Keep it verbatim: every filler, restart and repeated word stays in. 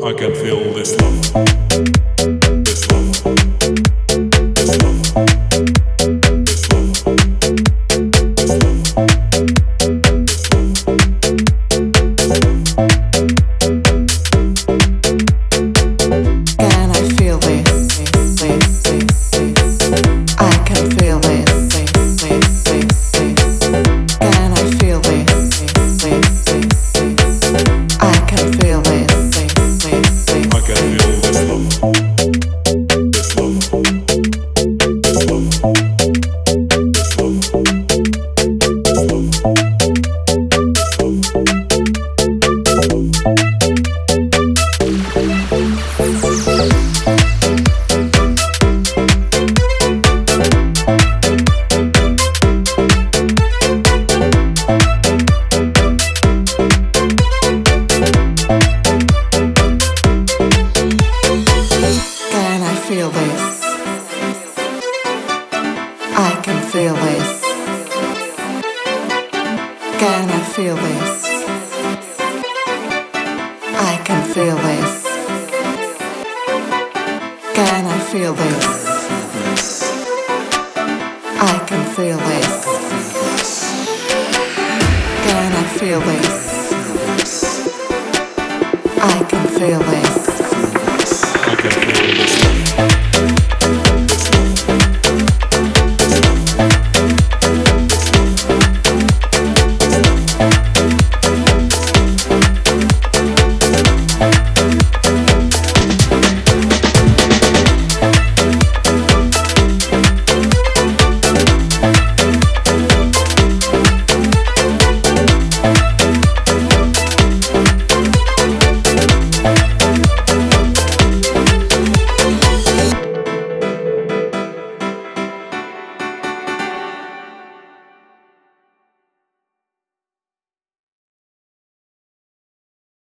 I can feel this love. This love. This love. This love. This love. Can I feel this? I can feel this. Can I feel this? I can feel this. I can feel this love. This love. This love. This love. Can I feel this? I can feel this. Can I feel this? I can feel this. Can I feel this? I can feel this. Can I feel this? I can feel this. I can feel this.